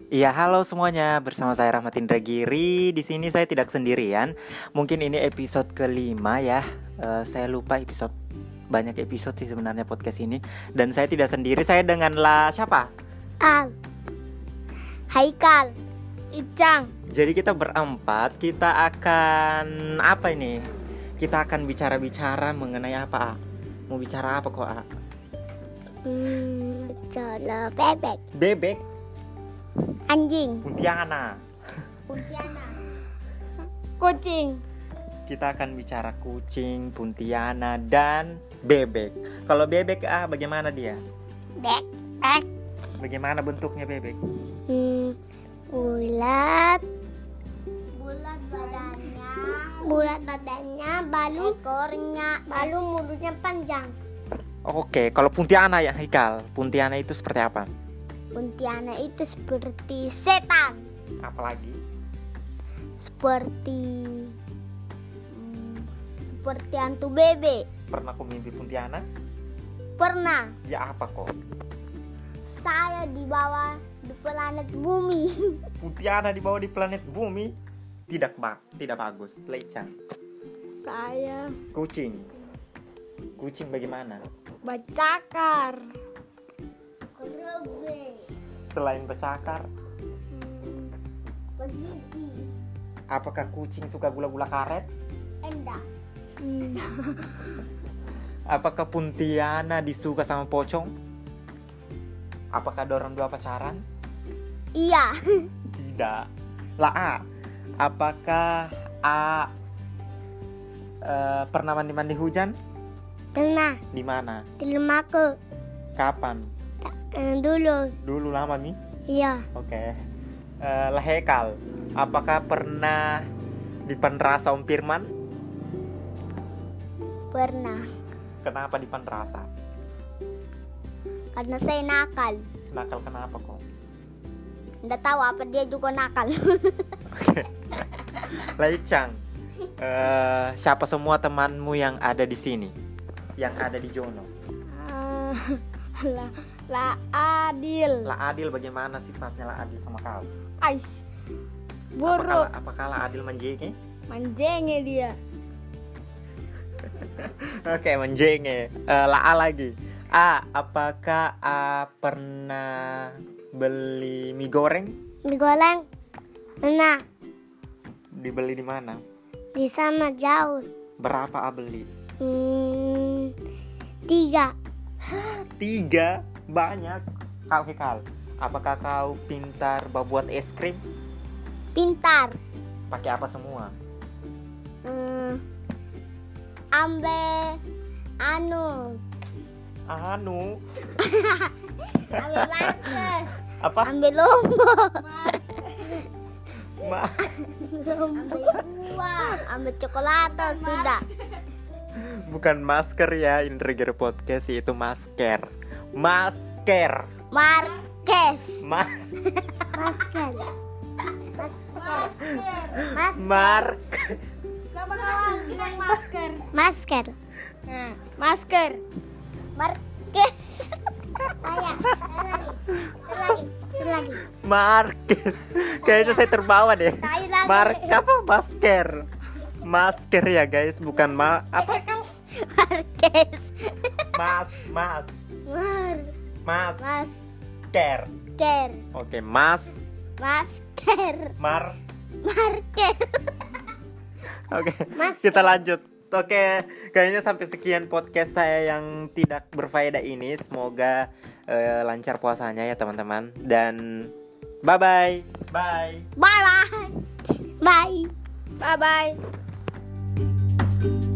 Iya, halo semuanya. Bersama saya Rahmat Indra Giri. Di sini saya tidak sendirian. Mungkin ini episode kelima ya. Saya lupa banyak episode sih sebenarnya podcast ini. Dan saya tidak sendiri. Saya dengan siapa? Al, Haikal, Icang. Jadi kita berempat. Kita akan apa ini? Kita akan bicara-bicara mengenai apa? Mau bicara apa kok? Bicara bebek, Bebek, anjing, kuntilanak. kucing. Kita akan bicara kucing, kuntilanak, dan bebek. Kalau bebek bagaimana dia? Bebek, Bagaimana bentuknya bebek? bulat badannya, balu ekornya, balu mulutnya panjang. Oke, kalau Pontianak ya Haikal, Pontianak itu seperti apa? Pontianak itu seperti setan, Apalagi? seperti hantu bebek. Pernah aku mimpi Pontianak? Pernah Ya apa kok? saya dibawa di planet bumi. Pontianak dibawa di planet bumi? Tidak bagus, lecang. Saya Kucing bagaimana? bercakar. Selain bercakar, Begigi. apakah kucing suka gula-gula karet? Enggak. Apakah Pontianak disuka sama pocong? Apakah dorong dua pacaran? Iya. Tidak. Apakah pernah mandi hujan? Pernah Di mana? di rumahku. Kapan? Dulu. Lama nih? Iya. Oke. Hekal, apakah pernah dipenrasa Om Firman? Pernah. Kenapa dipenrasa? Karena saya nakal. Nakal kenapa kok? Nggak tahu apa dia juga nakal. Oke. Laicang, siapa semua temanmu yang ada di sini? Yang ada di Jono? La Adil. Adil bagaimana sifatnya Adil sama kau? Ais. Buruk. Apakah Adil menjenge? Manjenge dia. Oke, menjenge. Lagi. Apakah pernah beli mie goreng? Digoreng. Pernah. Dibeli di mana? Di sana jauh. Berapa beli? 3. 3? Banyak. Kau Hekal, apakah kau pintar buat es krim? Pintar. Pakai apa semua? Ambil Anu. ambil markes. Apa? Ambil lombok. Ma. Ambil buah. Ambil coklat sudah. Bukan masker ya, Indra Giri Podcast itu masker. Masker. Markes. Masker. Coba kawan bilang masker. Masker. Nah, masker. Markes. Lagi. Markes. Kayaknya saya terbawa deh. Saya lagi. Masker ya guys, bukan apa? Markes. Masker. Oke, Masker. Markes. Oke, Masker. kita lanjut. Oke, kayaknya sampai sekian podcast saya yang tidak berfaedah ini. Semoga lancar puasanya ya teman-teman. Dan bye-bye. Bye. Bye.